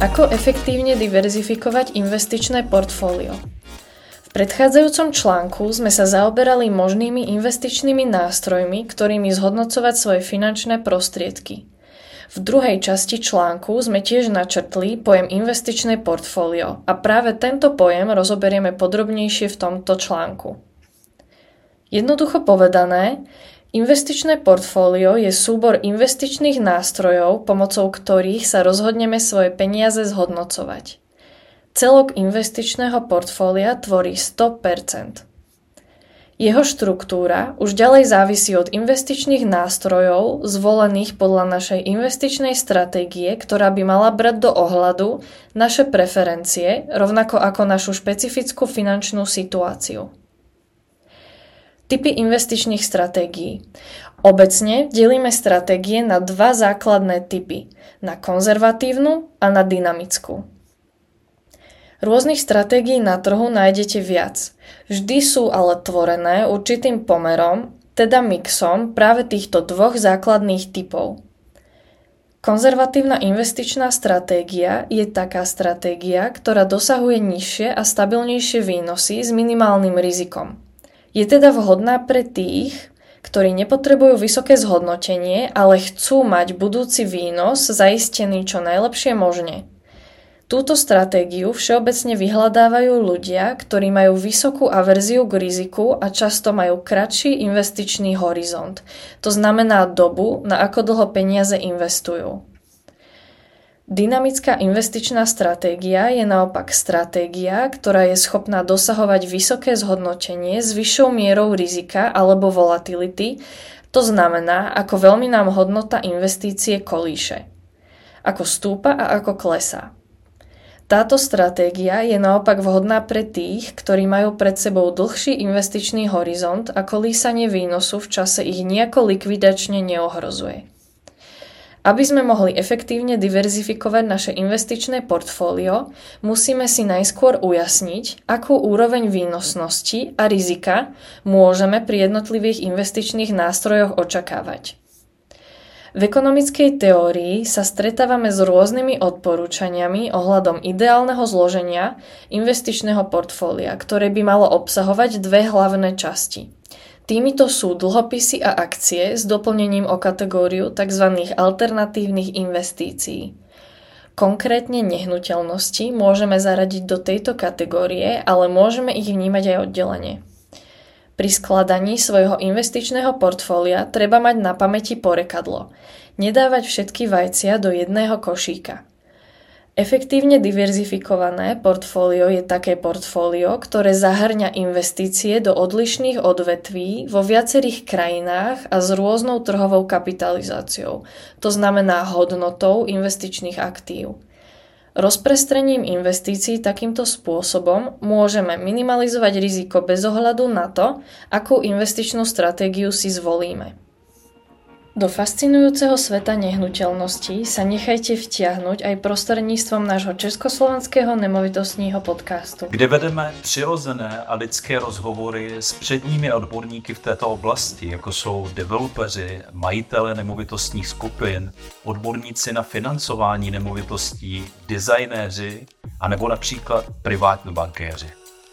Ako efektívne diverzifikovať investičné portfólio? V predchádzajúcom článku sme sa zaoberali možnými investičnými nástrojmi, ktorými zhodnocovať svoje finančné prostriedky. V druhej časti článku sme tiež načrtli pojem investičné portfólio a práve tento pojem rozoberieme podrobnejšie v tomto článku. Jednoducho povedané, investičné portfólio je súbor investičných nástrojov, pomocou ktorých sa rozhodneme svoje peniaze zhodnocovať. Celok investičného portfólia tvorí 100%. Jeho štruktúra už ďalej závisí od investičných nástrojov zvolených podľa našej investičnej stratégie, ktorá by mala brať do ohľadu naše preferencie, rovnako ako našu špecifickú finančnú situáciu. Typy investičných stratégií. Obecne delíme stratégie na dva základné typy, na konzervatívnu a na dynamickú. Rôznych stratégií na trhu nájdete viac. Vždy sú ale tvorené určitým pomerom, teda mixom práve týchto dvoch základných typov. Konzervatívna investičná stratégia je taká stratégia, ktorá dosahuje nižšie a stabilnejšie výnosy s minimálnym rizikom. Je teda vhodná pre tých, ktorí nepotrebujú vysoké zhodnotenie, ale chcú mať budúci výnos zaistený čo najlepšie možne. Túto stratégiu všeobecne vyhľadávajú ľudia, ktorí majú vysokú averziu k riziku a často majú kratší investičný horizont. To znamená dobu, na ako dlho peniaze investujú. Dynamická investičná stratégia je naopak stratégia, ktorá je schopná dosahovať vysoké zhodnotenie s vyššou mierou rizika alebo volatility, to znamená, ako veľmi nám hodnota investície kolíše, ako stúpa a ako klesá. Táto stratégia je naopak vhodná pre tých, ktorí majú pred sebou dlhší investičný horizont a kolísanie výnosu v čase ich nejako likvidačne neohrozuje. Aby sme mohli efektívne diverzifikovať naše investičné portfólio, musíme si najskôr ujasniť, akú úroveň výnosnosti a rizika môžeme pri jednotlivých investičných nástrojoch očakávať. V ekonomickej teórii sa stretávame s rôznymi odporúčaniami ohľadom ideálneho zloženia investičného portfólia, ktoré by malo obsahovať dve hlavné časti. Týmito sú dlhopisy a akcie s doplnením o kategóriu tzv. Alternatívnych investícií. Konkrétne nehnuteľnosti môžeme zaradiť do tejto kategórie, ale môžeme ich vnímať aj oddelene. Pri skladaní svojho investičného portfólia treba mať na pamäti porekadlo. Nedávať všetky vajcia do jedného košíka. Efektívne diverzifikované portfólio je také portfólio, ktoré zahŕňa investície do odlišných odvetví vo viacerých krajinách a s rôznou trhovou kapitalizáciou, to znamená hodnotou investičných aktív. Rozprestrením investícií takýmto spôsobom môžeme minimalizovať riziko bez ohľadu na to, akú investičnú stratégiu si zvolíme. Do fascinujúceho sveta nehnuteľností sa nechajte vtiahnuť aj prostredníctvom nášho československého nemovitostního podcastu. Kde vedeme přirozené a lidské rozhovory s předními odborníky v této oblasti, jako jsou developeři, majitele nemovitostních skupin, odborníci na financování nemovitostí, designéři a nebo například privátní bankéři.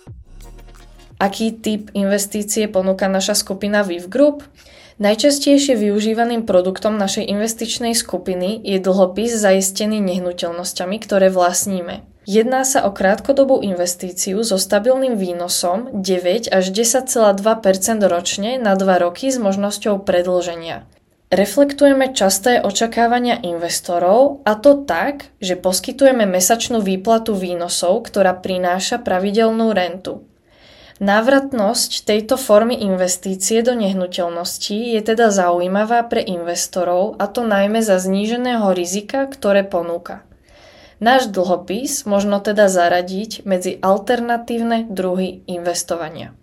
Aký typ investície ponúka naša skupina VIV Group? Najčastejšie využívaným produktom našej investičnej skupiny je dlhopis zaistený nehnuteľnosťami, ktoré vlastníme. Jedná sa o krátkodobú investíciu so stabilným výnosom 9 až 10,2% ročne na 2 roky s možnosťou predĺženia. Reflektujeme časté očakávania investorov, a to tak, že poskytujeme mesačnú výplatu výnosov, ktorá prináša pravidelnú rentu. Návratnosť tejto formy investície do nehnuteľností je teda zaujímavá pre investorov, a to najmä za zníženého rizika, ktoré ponúka. Náš dlhopis možno teda zaradiť medzi alternatívne druhy investovania.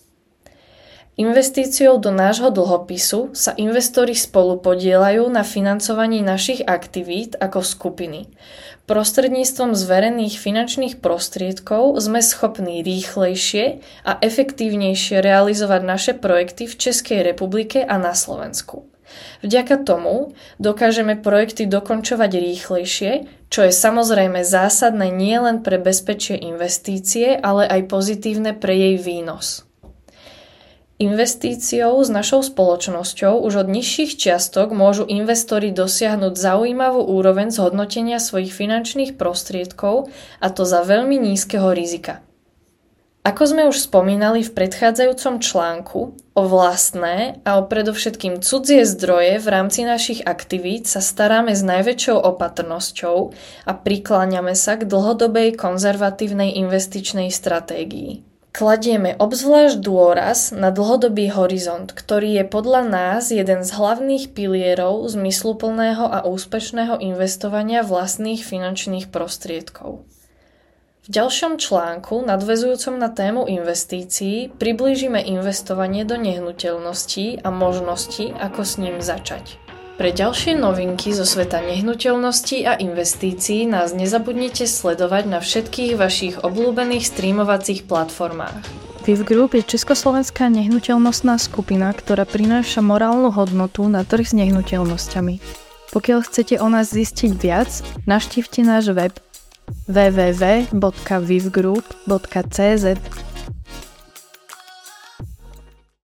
Investíciou do nášho dlhopisu sa investori spolupodieľajú na financovaní našich aktivít ako skupiny. Prostredníctvom zverených finančných prostriedkov sme schopní rýchlejšie a efektívnejšie realizovať naše projekty v Českej republike a na Slovensku. Vďaka tomu dokážeme projekty dokončovať rýchlejšie, čo je samozrejme zásadné nielen pre bezpečie investície, ale aj pozitívne pre jej výnos. Investíciou s našou spoločnosťou už od nižších čiastok môžu investori dosiahnuť zaujímavú úroveň zhodnotenia svojich finančných prostriedkov, a to za veľmi nízkeho rizika. Ako sme už spomínali v predchádzajúcom článku, o vlastné a o predovšetkým cudzie zdroje v rámci našich aktivít sa staráme s najväčšou opatrnosťou a prikláňame sa k dlhodobej konzervatívnej investičnej stratégii. Kladieme obzvlášť dôraz na dlhodobý horizont, ktorý je podľa nás jeden z hlavných pilierov zmysluplného a úspešného investovania vlastných finančných prostriedkov. V ďalšom článku, nadväzujúcom na tému investícií, priblížime investovanie do nehnuteľností a možnosti, ako s ním začať. Pre ďalšie novinky zo sveta nehnuteľností a investícií nás nezabudnite sledovať na všetkých vašich obľúbených streamovacích platformách. VIV Group je československá nehnuteľnostná skupina, ktorá prináša morálnu hodnotu na trh s nehnuteľnosťami. Pokiaľ chcete o nás zistiť viac, navštívte náš web www.vivgroup.cz.